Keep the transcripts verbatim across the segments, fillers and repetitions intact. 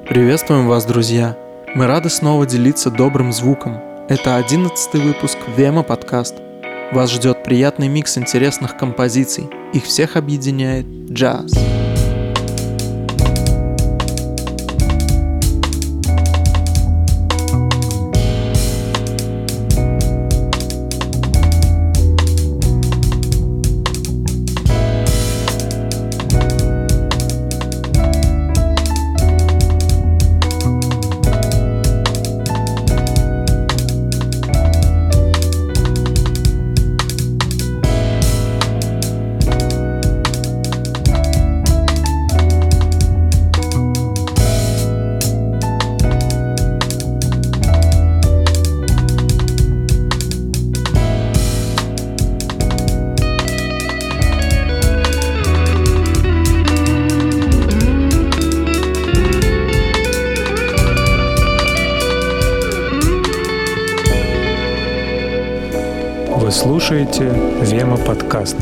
Приветствуем вас, друзья! Мы рады снова делиться добрым звуком. Это одиннадцатый выпуск Вема подкаст. Вас ждет приятный микс интересных композиций. Их всех объединяет джаз. Вы слушаете Вема подкаст.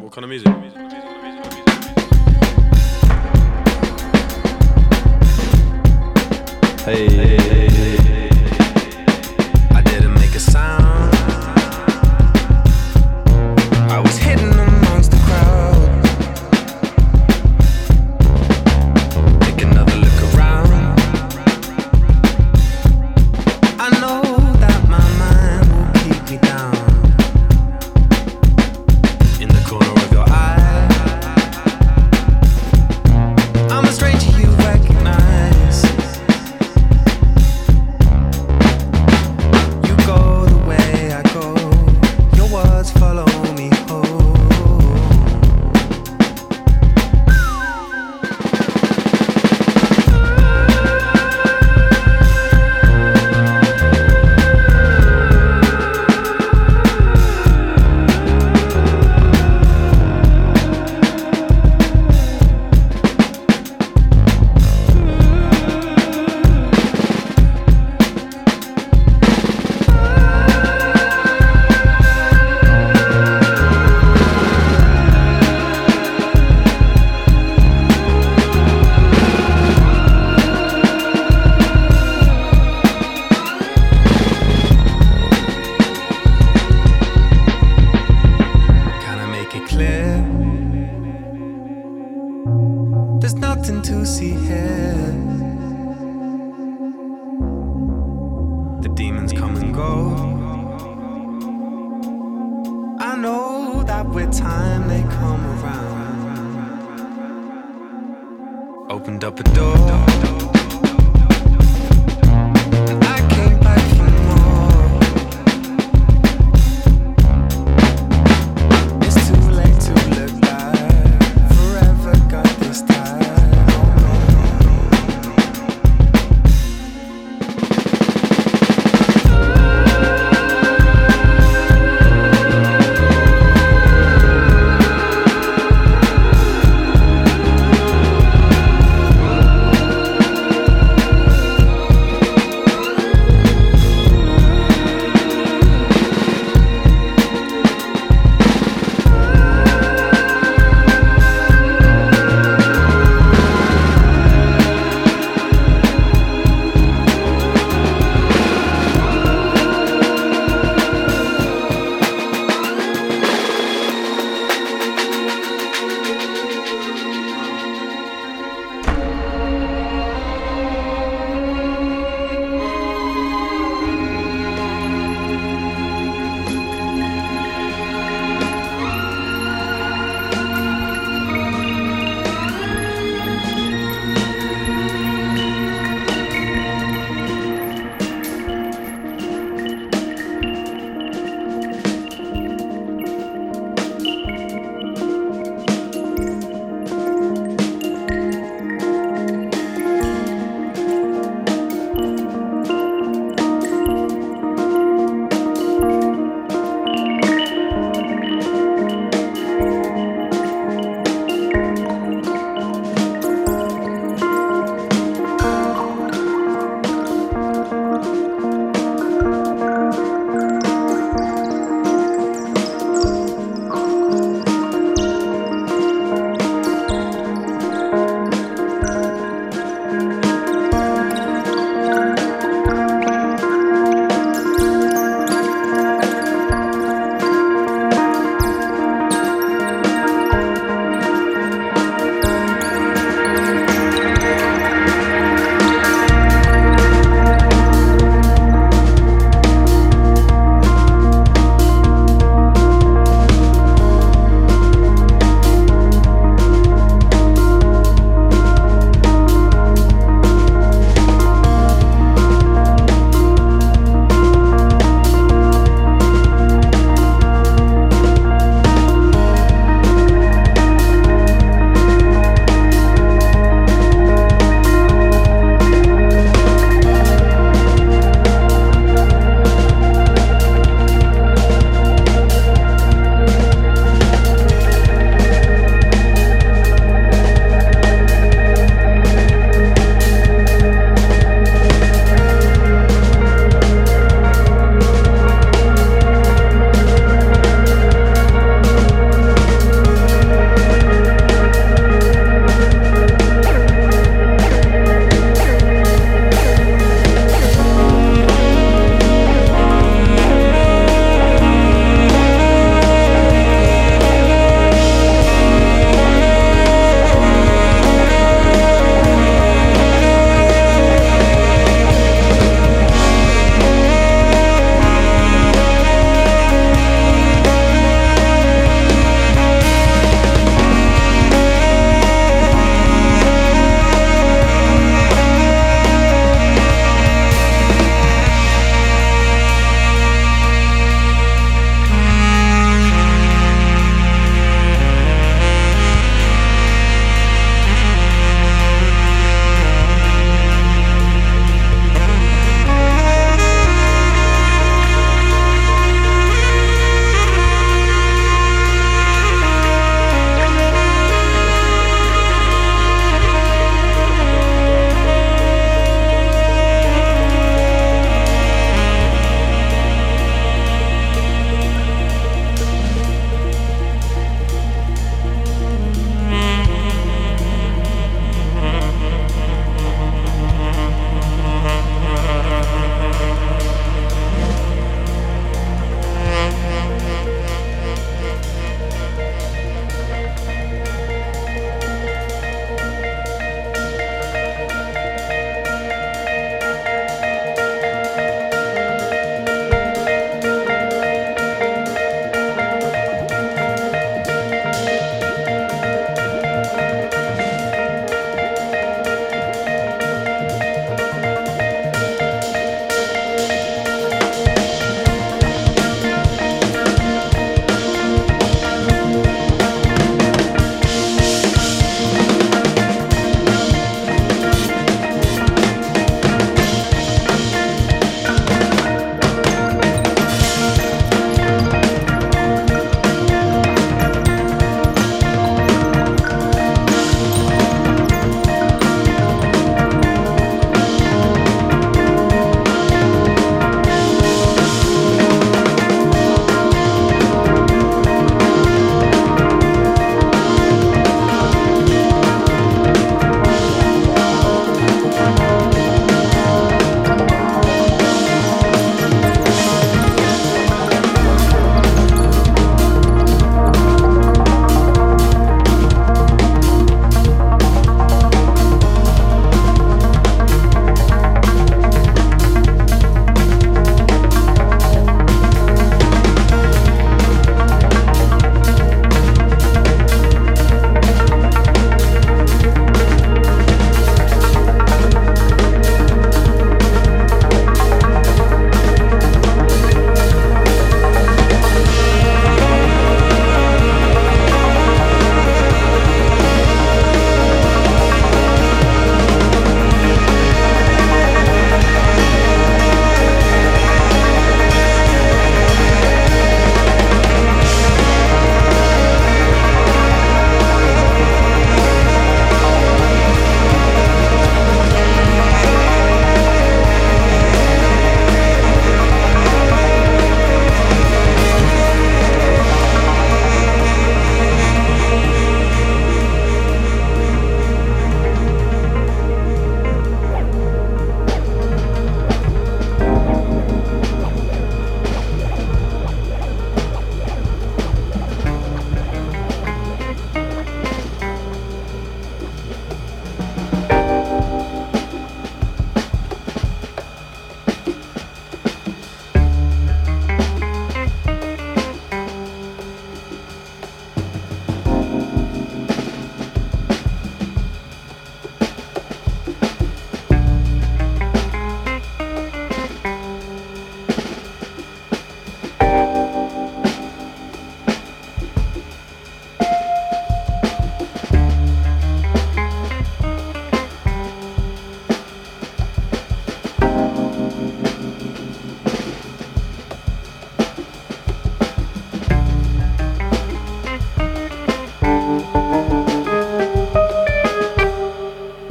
what kind of music? Hey, hey, hey, hey. I didn't make a sound. I was hidden amongst the crowd. Take another look around. I know that my mind will keep me down. In the corner of your eye, I'm a stranger you recognize. You go the way I go, your words follow me home. There's nothing to see here. The demons come and go. I know that with time they come around. Opened up a door.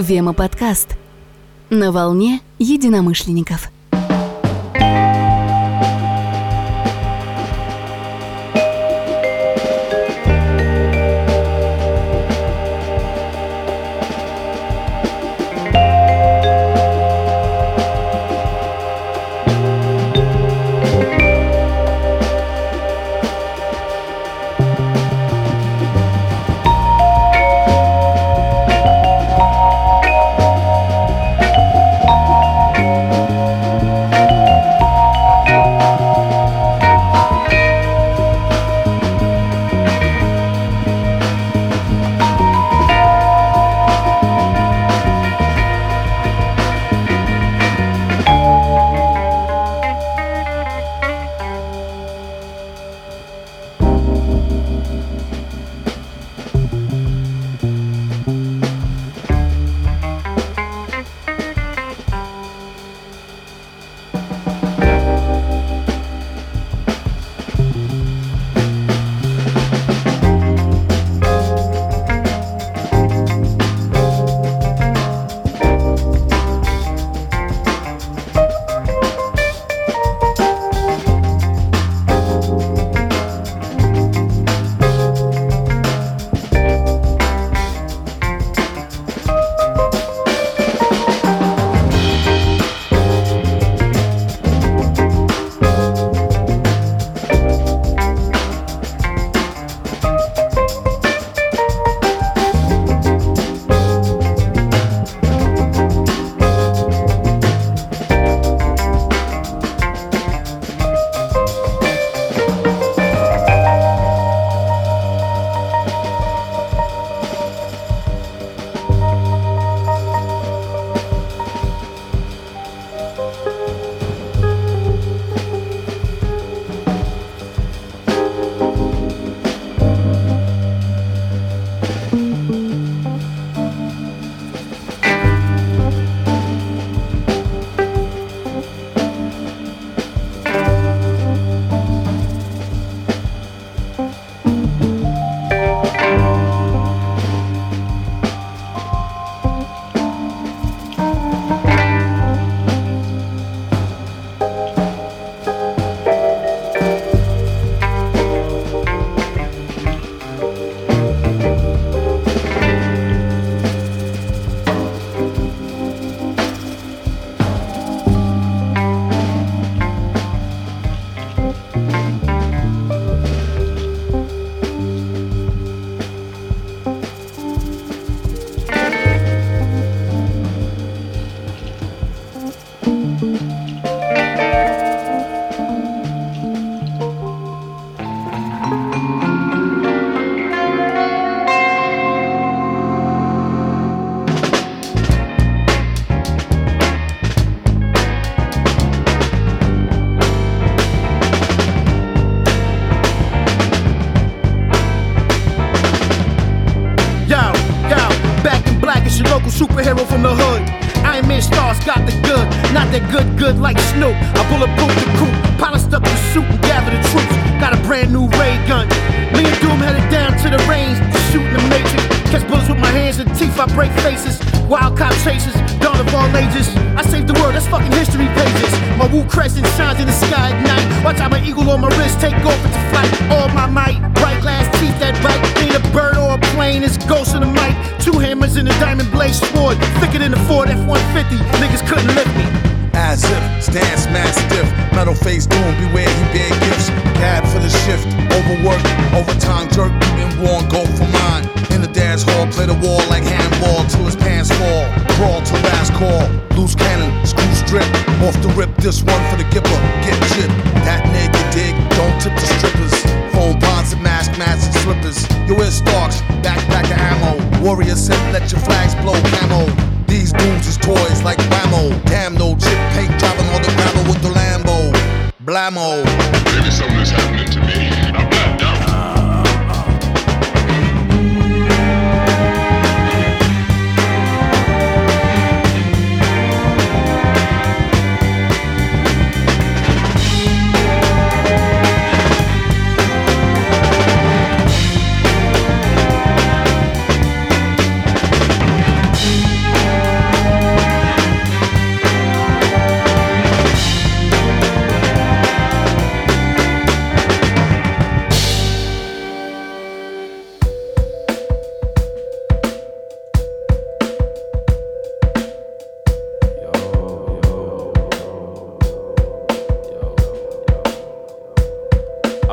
Вема подкаст на волне единомышленников. Superhero from the hood. Iron Man stars got the good, not that good, good like Snoop. I bulletproof the coupe, polished up the suit and gather the troops. Got a brand new ray gun. Me and Doom headed down to the range to shoot in the Matrix. Catch bullets with my hands and teeth, I break faces. Wild cop chasers, dawn of all ages. I saved the world, that's fucking history pages. My Wu crescent shines in the sky at night. Watch out, my eagle on my wrist, take off into flight. All my might, bright glass teeth that bite. Ain't a bird or a plane, it's ghost in the mic. Two hammers in a diamond blade sword, thicker than the Ford F one fifty. Niggas couldn't lift me. As if, stance mad stiff. Metal face doom, beware he bear gifts. Cab for the shift, overwork, overtime jerk. Been worn, go for mine. In the dance hall, play the wall like handball till his pants fall. Brawl till last call. Loose cannon, screw strip. Off the rip, this one for the gipper. Get chipped. That nigga dig, don't tip the strippers. Phone bonds and mask, masks and slippers. You wear Starks, backpack of ammo. Warrior said, let your flags blow camo. These dudes is toys like Whammo. Damn, no chip paint, driving on the gravel with the Lambo. Blammo. Maybe something is happening to me. I'm blacked out.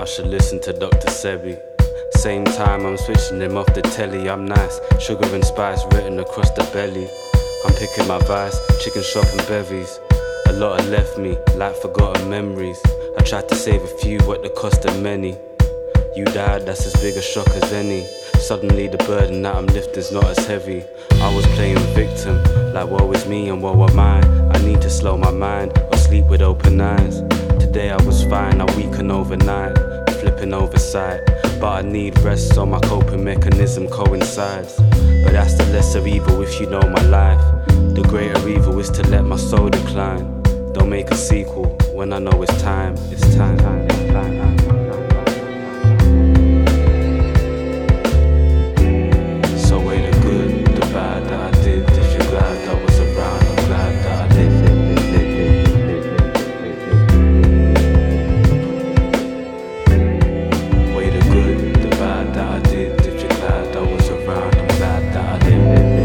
I should listen to Doctor Sebi. Same time I'm switching him off the telly. I'm nice, sugar and spice written across the belly. I'm picking my vice, chicken shop and bevies. A lot have left me, like forgotten memories. I tried to save a few at the cost of many. You died, that's as big a shock as any. Suddenly the burden that I'm lifting's not as heavy. I was playing victim, like woe is me and woe am I. I need to slow my mind or sleep with open eyes. Today I was fine, I weaken overnight, flipping oversight. But I need rest so my coping mechanism coincides. But that's the lesser evil if you know my life. The greater evil is to let my soul decline. Don't make a sequel when I know it's time, it's time, it's time. So weigh the good, the bad that I did. If you're glad I was around, I'm glad that I lived. Weigh the good, the bad that I did. If you're glad I was around, I'm glad that I lived.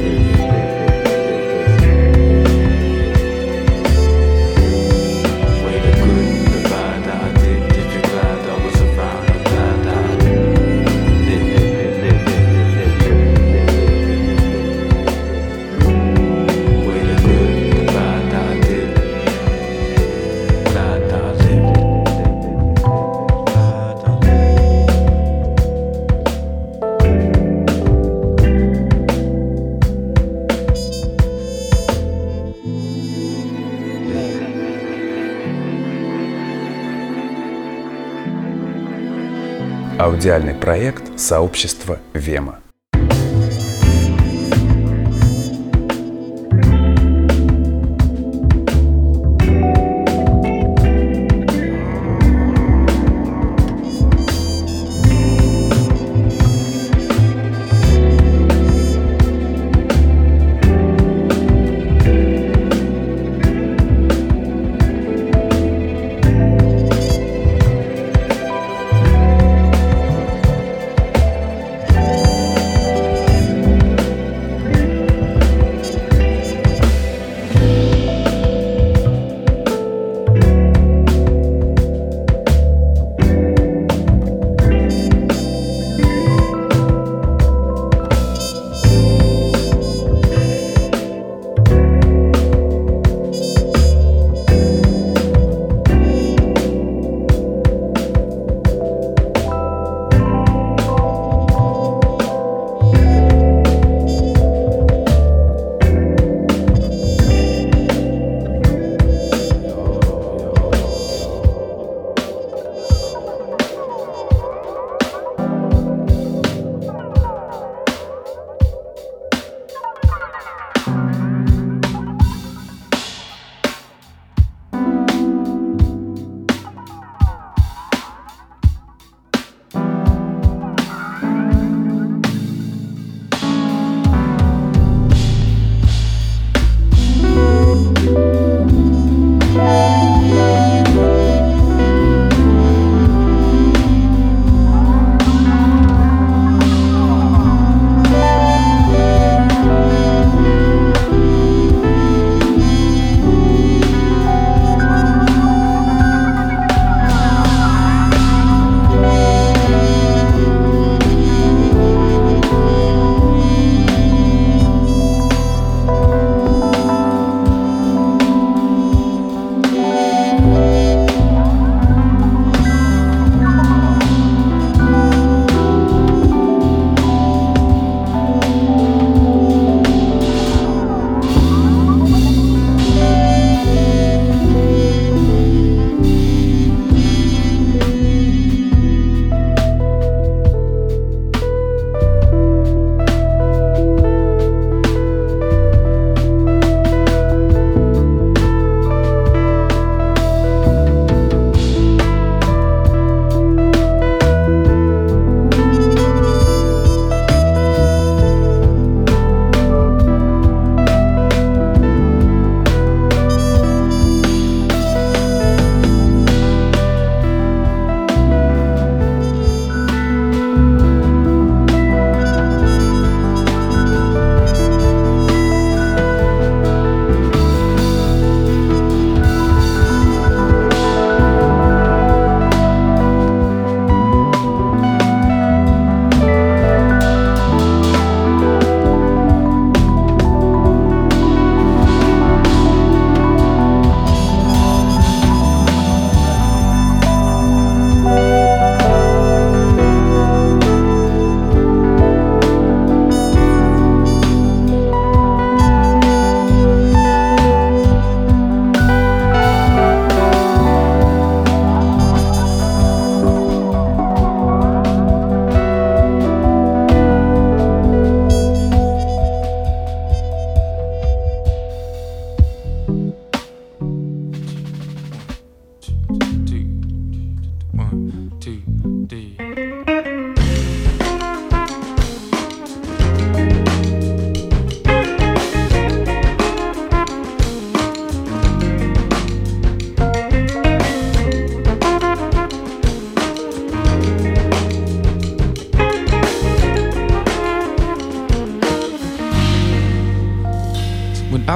Аудиальный проект сообщества Вема.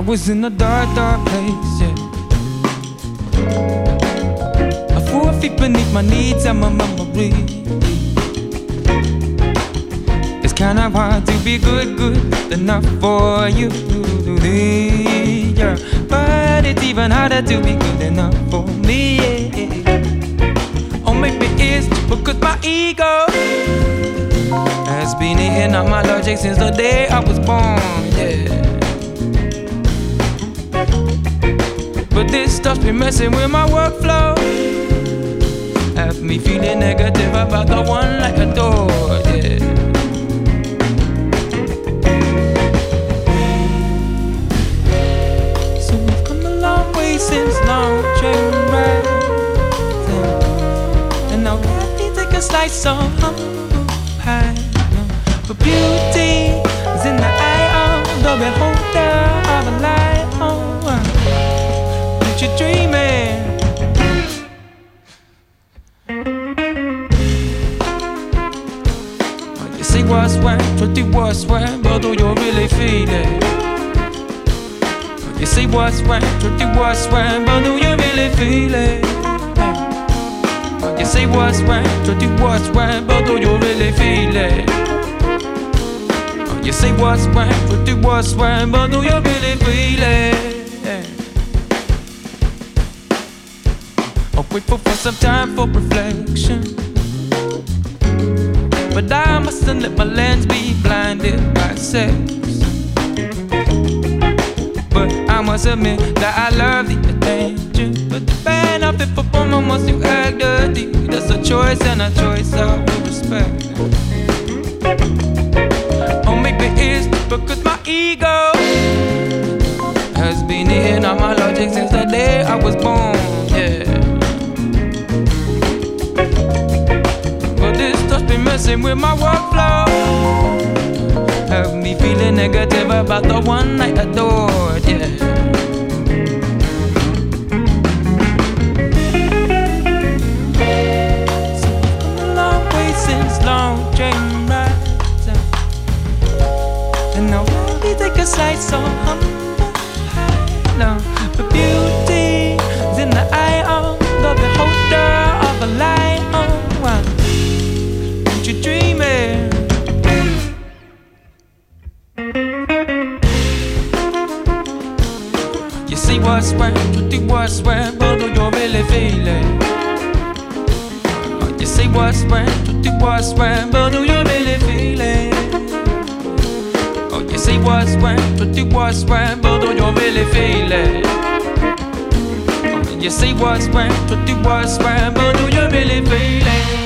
was in a dark, dark place, yeah. Four feet beneath my needs and my memory. It's kinda hard to be good, good enough for you, yeah. But it's even harder to be good enough for me, yeah. Or maybe it's because my ego has been eating up my logic since the day I was born, yeah. But this stuff's been messing with my workflow, have me feeling negative about the one I adore, yeah. So we've come a long way since long train ride, and now happy take a slice of humble pie. But beauty is in the eye of the beholder of a light. Oh, what you dreaming? Say what's when, truth it was when, but do you really feel it? You say what's when, truth it was when, but do you really feel it? You say what's when, truth it was when, but do you really feel it? You say what's when, truth it was when, but do you really feel it? I'm grateful for some time for reflection, but I mustn't let my lens be blinded by sex. But I must admit that I love the attention, but the benefit for woman wants to act dirty. That's a choice and a choice I will respect. Or maybe it's because my ego has been eating all my logic since the day I was born, yeah. Been messing with my workflow, have me feeling negative about the one I adored, yeah. So we've come a long way since long train rides, and now we take a slice of humble pie. No, but beauty is in the eye of the beholder of a light. Oh, wow. You dreaming? You see what's when, truth it was when, but do you really feel it? You see what's when, truth it was when, but do you really feel it? Oh, you see what's when, truth it was when, but do you really feel it? Oh, you see what's when, truth it was when, but do you really feel it?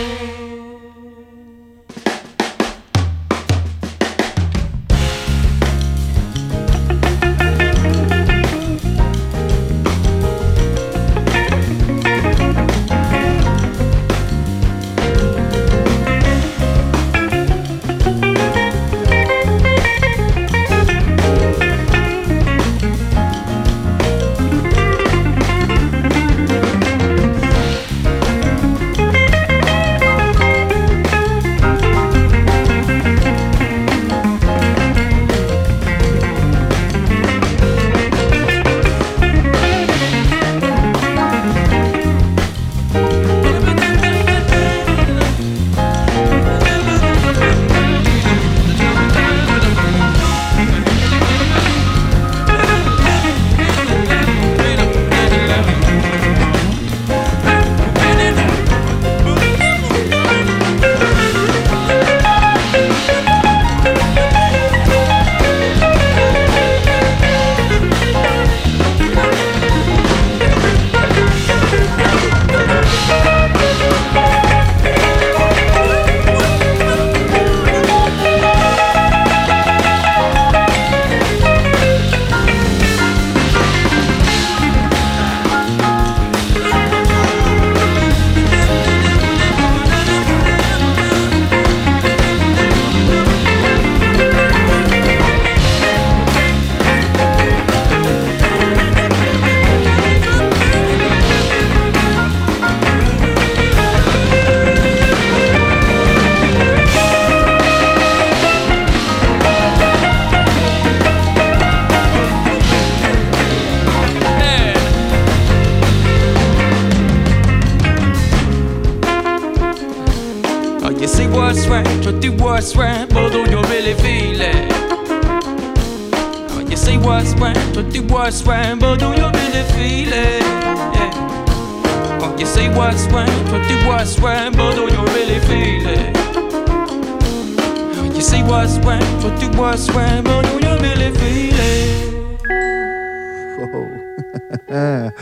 worst way, but the worst way, but do you really feel it? Oh, you say worst way, but the worst way, but do you really feel it? Yeah. Oh, you say worst way, but the worst way, but do you really feel it? Oh, you say worst way, but the worst way, but do you really feel it? Whoa.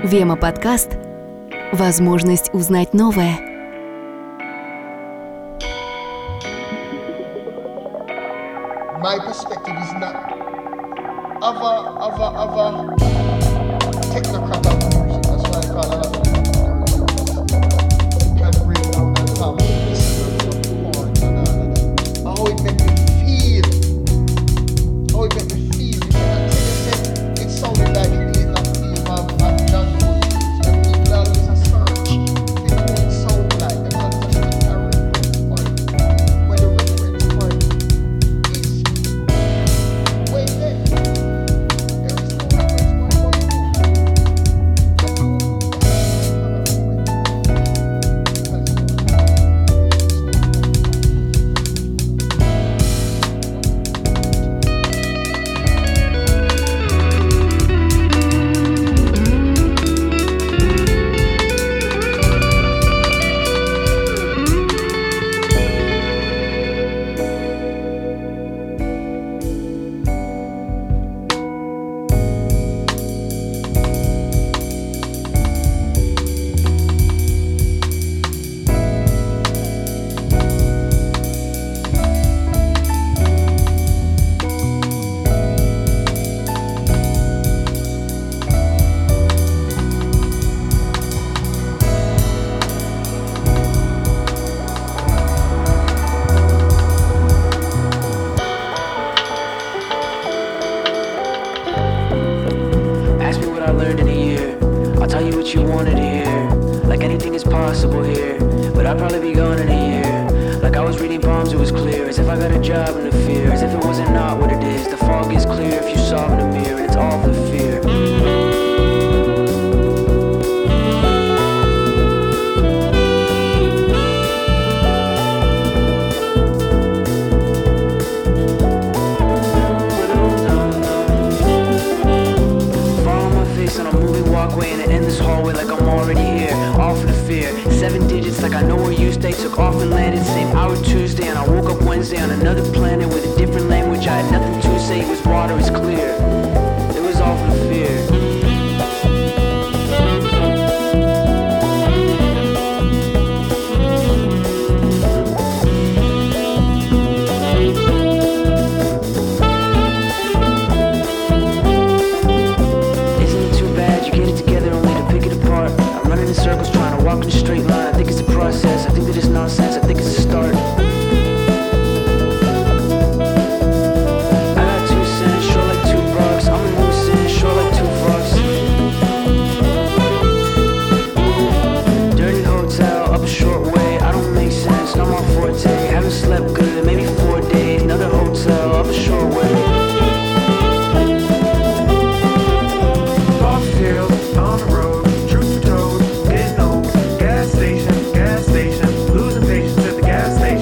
Вема подкаст. Возможность узнать новое. My perspective is not other, other, other technocrat of music. That's why I call it other. Kind of bring down that top listeners of porn and all of that. How it make me feel. How it make me feel. You know, it, it sounded like it is not theme of, of John Wood. And people always a search. They don't sound like the concept of a reference point. When the reference point way there. There is no reference point for you. You wanted to hear, like anything is possible here, but I'd probably be gone in a year. Like I was reading palms, it was clear, as if I got a job in the fear, as if it wasn't not what it is. The fog is clear if you saw in the mirror, and it's all the fear. Walkway and end this hallway like I'm already here, all for the fear. Seven digits like I know where you stay. Took off and landed same hour Tuesday, and I woke up Wednesday on another planet with a different language. I had nothing to say, it was water, it's clear. It was all for the fear. Circles trying to walk in a straight line. I think it's a process. I think that it's nonsense. I think it's a start. I got two cents, short like two bucks. I'm a loose in, short like two fucks. Dirty hotel, up a short way. I don't make sense, not my forte. Haven't slept good, maybe four days. Another hotel, up a short way. Off field, on the road. Gas station, losing patience at the gas station.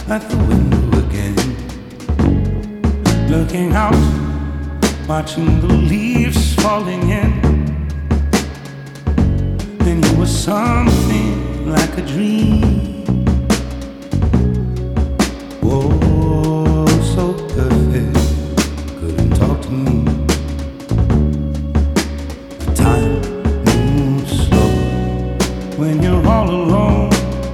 at the window again, looking out, watching the leaves falling in. Then you were something like a dream. Whoa, so perfect, couldn't talk to me. The time moves slow when you're all alone.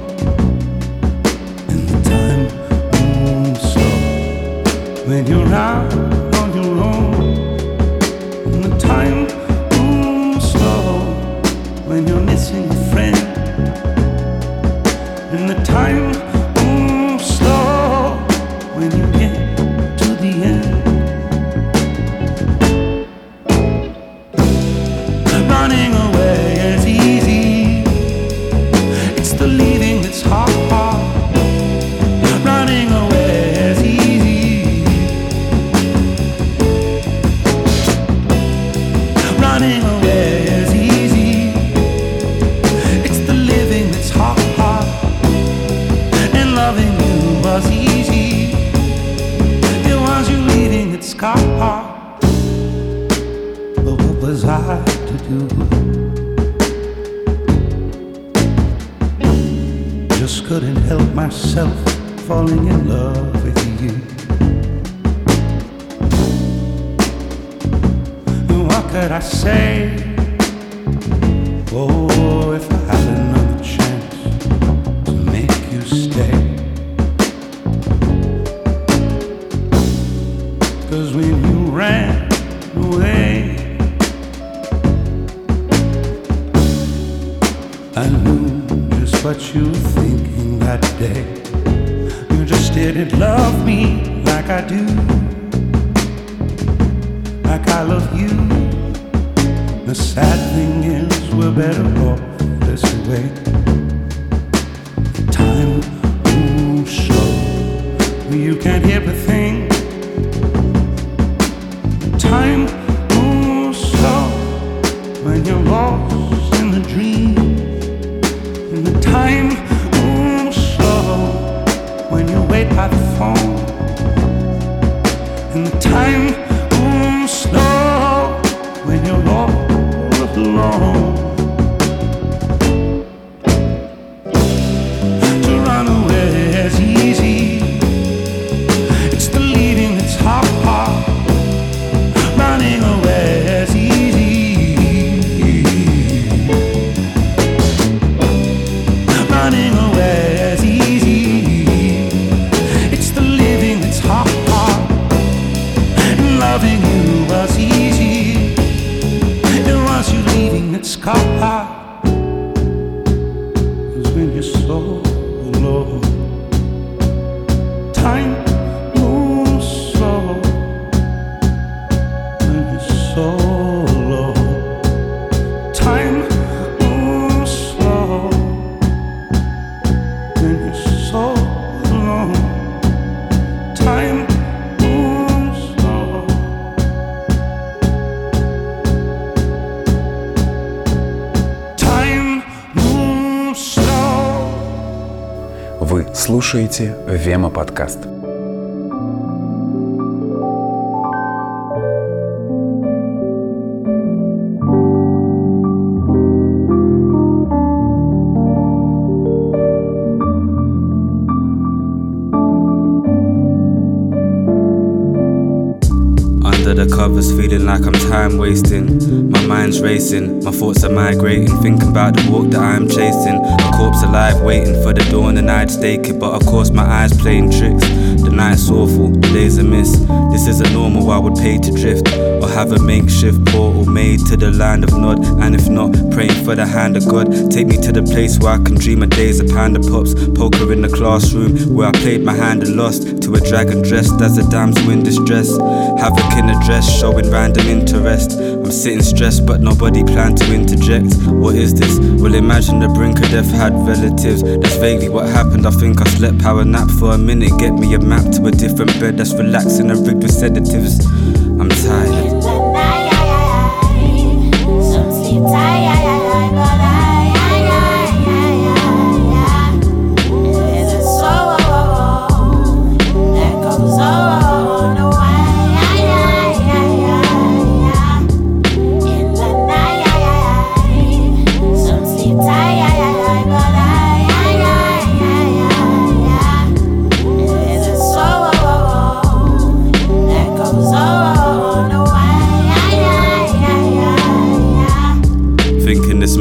When you're out on your own, and the time moves slow. When you're missing a friend, and the time moves slow. When you get to the end, running away is easy. It's the leaving that's hard. Running away is easy. Running away is easy. It's the living that's hard, hard. And loving you was easy. It was you leaving that's hard. But what was I to do? Just couldn't help myself falling in love with you. What could I say? Oh, if I had another chance to make you stay. 'Cause when you ran away, I knew just what you were thinking that day. You just didn't love me like I do, like I love you. The sad thing is we're better off this way. Time moves slow, you can't hear a thing. Time moves slow when you're lost in the dream. And the time moves slow when you wait by the phone. And the time moves slow when you're all alone. To run away is easy. It's the leaving that's hard, hard. Running away is easy. Running away is easy. It's the living that's hard, hard. And loving you was easy. It was you leaving that's hard. 'Cause when you're so alone, time moves slow. When you're so alone, time moves slow. When you're so alone, time moves slow. Time moves slow. Вы слушаете Вема подкаст. The covers feeling like I'm time wasting. My mind's racing, my thoughts are migrating, thinking about the walk that I'm chasing. A corpse alive waiting for the dawn and I'd stake it, but of course my eyes playing tricks. The night's awful, the days are miss. This isn't normal, I would pay to drift or have a makeshift portal made to the land of Nod. And if not, praying for the hand of God. Take me to the place where I can dream of days of panda pops. Poker in the classroom where I played my hand and lost to a dragon dressed as a damsel in distress. Havoc in a dress showing random interest. I'm sitting stressed but nobody planned to interject. What is this? Well, imagine the brink of death had relatives. That's vaguely what happened. I think I slept power nap for a minute. Get me a map to a different bed that's relaxing and rigged with sedatives. I'm tired. Some sleep tired.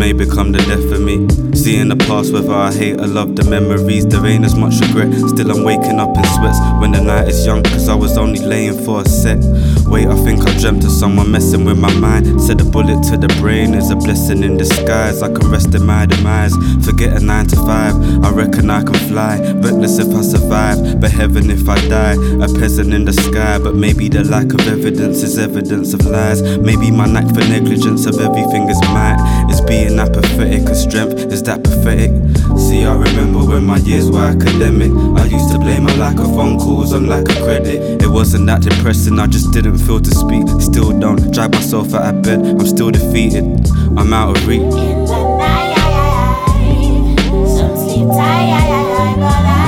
may become the death of me. Seeing the past, whether I hate or love the memories, there ain't as much regret. Still I'm waking up in sweats when the night is young, cause I was only laying for a sec. Wait, I think I dreamt of someone messing with my mind. Said a bullet to the brain is a blessing in disguise. I can rest in my demise, forget a nine to five. I reckon I can fly, reckless if I survive, but heaven if I die. A peasant in the sky, but maybe the lack of evidence is evidence of lies. Maybe my knack for negligence of everything is might. It's being apathetic, cause strength is that pathetic. See, I remember when my years were academic, I used to blame my lack of phone calls on lack of credit. It wasn't that depressing, I just didn't feel to speak. Still don't drag myself out of bed, I'm still defeated, I'm out of reach. In the night, some sleep tight, but I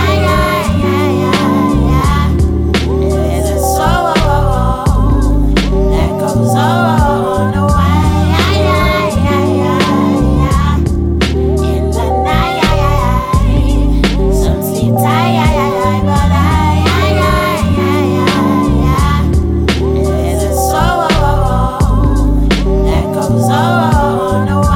there's a soul that goes on a while. In the night, some sleep tight, but I there's a soul that goes on a while.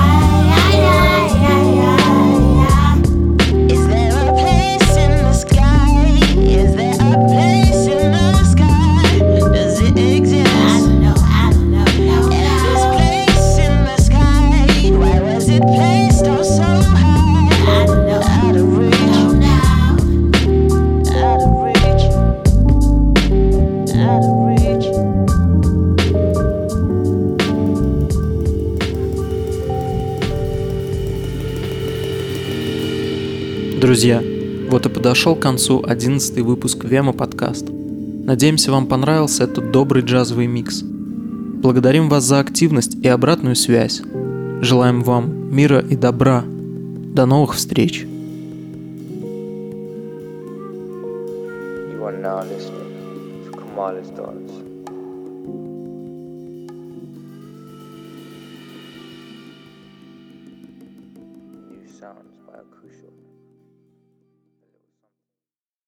Is there a place in the sky? Is there a place in the sky? Does it exist? I don't know, I don't know, no, no. And this place in the sky, why was it placed oh so high? I don't know, out of reach, no, no. Out of reach, out of reach. Друзья, вот и подошел к концу одиннадцатый выпуск Вема подкаст. Надеемся, вам понравился этот добрый джазовый микс. Благодарим вас за активность и обратную связь. Желаем вам мира и добра. До новых встреч. You are now listening to Kamala's Dance. New sounds by Akusho.